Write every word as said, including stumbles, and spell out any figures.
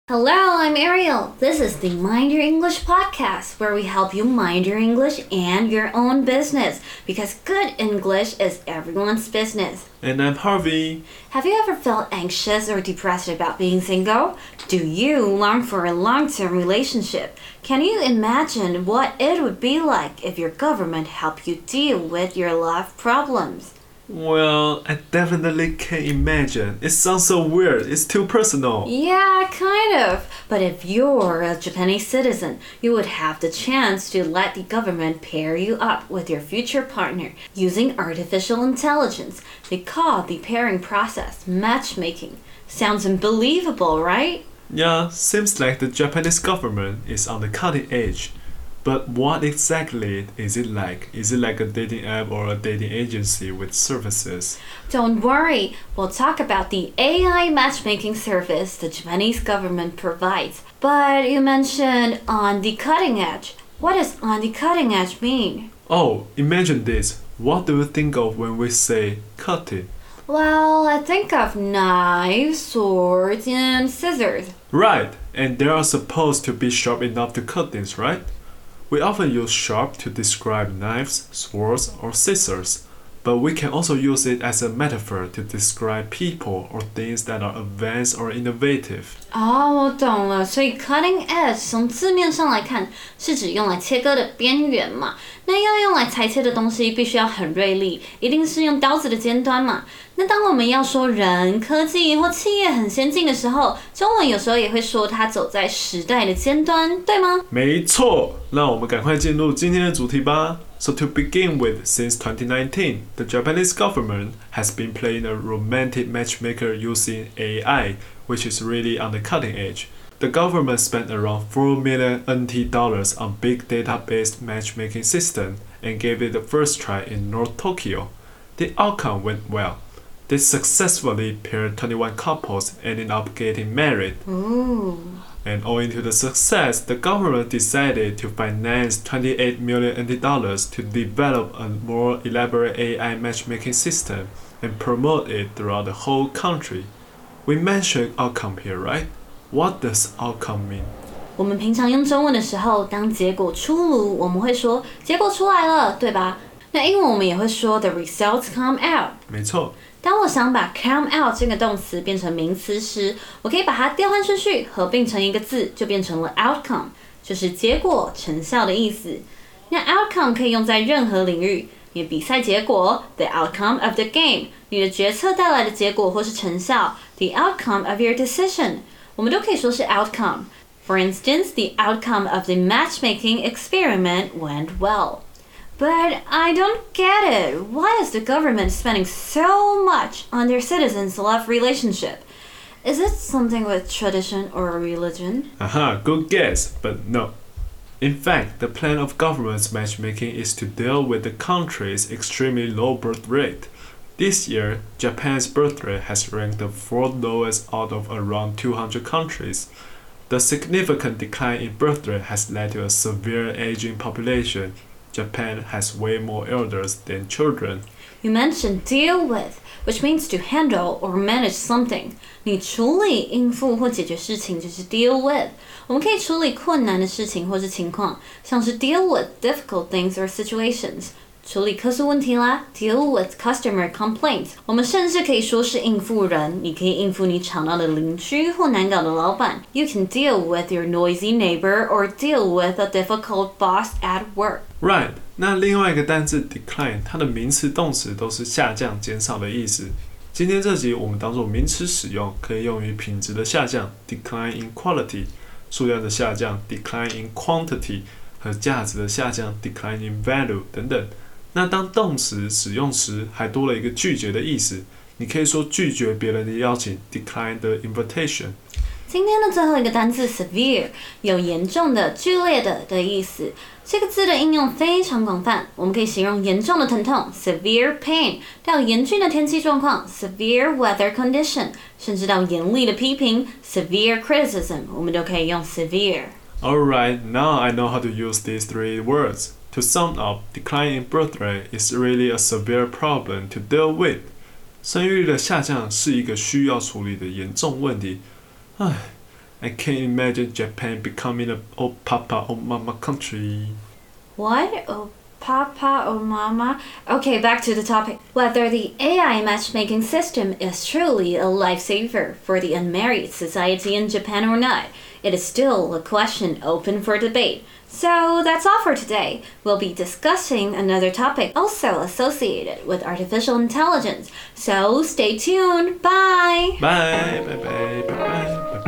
Hello, I'm Ariel. This is the Mind Your English podcast, where we help you mind your English and your own business, because good English is everyone's business. And I'm Harvey. Have you ever felt anxious or depressed about being single? Do you long for a long-term relationship? Can you imagine what it would be like if your government helped you deal with your love problems? Well, I definitely can imagine. It sounds so weird. It's too personal. Yeah, kind of. But if you're a Japanese citizen, you would have the chance to let the government pair you up with your future partner using artificial intelligence. They call the pairing process matchmaking. Sounds unbelievable, right? Yeah, seems like the Japanese government is on the cutting edge. But what exactly is it like? Is it like a dating app or a dating agency with services? Don't worry, we'll talk about the A I matchmaking service the Japanese government provides. But you mentioned on the cutting edge. What does on the cutting edge mean? Oh, imagine this. What do you think of when we say cutting? Well, I think of knives, swords, and scissors. Right, and they are supposed to be sharp enough to cut things, right? We often use sharp to describe knives, swords, or scissors, but we can also use it as a metaphor to describe people or things that are advanced or innovative. 哦，我懂了。所以 cutting edge 从字面上来看，是指用来切割的边缘嘛。那要用来裁切的东西，必须要很锐利，一定是用刀子的尖端嘛。那当我们要说人、科技或企業很先进的时候，中文有时候也会说它走在时代的尖端，对吗？ 没错，那我们赶快进入今天的主题吧。So to begin with, since twenty nineteen, the Japanese government has been playing a romantic matchmaker using A I, which is really on the cutting edge. The government spent around four million N T dollars on big data-based matchmaking system and gave it the first try in North Tokyo. The outcome went well. They successfully paired twenty-one couples, ending up getting married. Ooh. And owing to the success, the government decided to finance twenty-eight million N T dollars to develop a more elaborate A I matchmaking system and promote it throughout the whole country. We mentioned outcome here, right? What does outcome mean? 我们平常用中文的时候，当结果出爐，我们会說結果出來了，對吧？那英文我們也會說 the results come out。 沒錯。 當我想把 come out 這個動詞變成名詞時，我可以把它調換順序，合併成一個字，就變成了 outcome， 就是結果、成效的意思。那 outcome 可以用在任何領域，你的比賽結果 the outcome of the game， 你的決策帶來的結果或是成效 the outcome of your decision， 我們都可以說是 outcome。For instance, the outcome of the matchmaking experiment went well.But I don't get it. Why is the government spending so much on their citizens' love relationship? Is it something with tradition or religion? Aha, good guess, but no. In fact, the plan of government's matchmaking is to deal with the country's extremely low birth rate. This year, Japan's birth rate has ranked the fourth lowest out of around two hundred countries. The significant decline in birth rate has led to a severe aging population.Japan has way more elders than children. You mentioned deal with, which means to handle or manage something. 你處理、應付或解決事情就是 deal with. 我們可以處理困難的事情或是情況，像是 deal with difficult things or situations. 處理客訴問題啦 deal with customer complaints. 我們甚至可以說是應付人，你可以應付你吵鬧的鄰居或難搞的老闆。You can deal with your noisy neighbor or deal with a difficult boss at work. Right. 那另外一個單字 decline， 它的名詞、動詞都是下降、減少的意思。今天這集我們當作名詞使用，可以用於品質的下降 decline in quality， 數量的下降 decline in quantity 和價值的下降 decline in value 等等。那當動詞使用時，還多了一個拒絕的意思。你可以說拒絕別人的邀請 decline the invitation。 今天的最後一個單字 severe 有嚴重的、劇烈的的意思。這個字的應用非常廣泛，我們可以形容嚴重的疼痛 severe pain， 到嚴峻的天氣狀況 severe weather condition， 甚至到嚴厲的批評 severe criticism， 我們都可以用 severe。 Alright, now I know how to use these three words. To sum up, decline in birth rate is really a severe problem to deal with. 生育率的下降是一個需要處理的嚴重問題。唉， I can't imagine Japan becoming a oh papa oh mama country. What? Oh papa or mama? Okay, back to the topic. Whether the A I matchmaking system is truly a lifesaver for the unmarried society in Japan or not, it is still a question open for debate. So that's all for today. We'll be discussing another topic also associated with artificial intelligence. So stay tuned. Bye. Bye, bye, bye, bye, bye.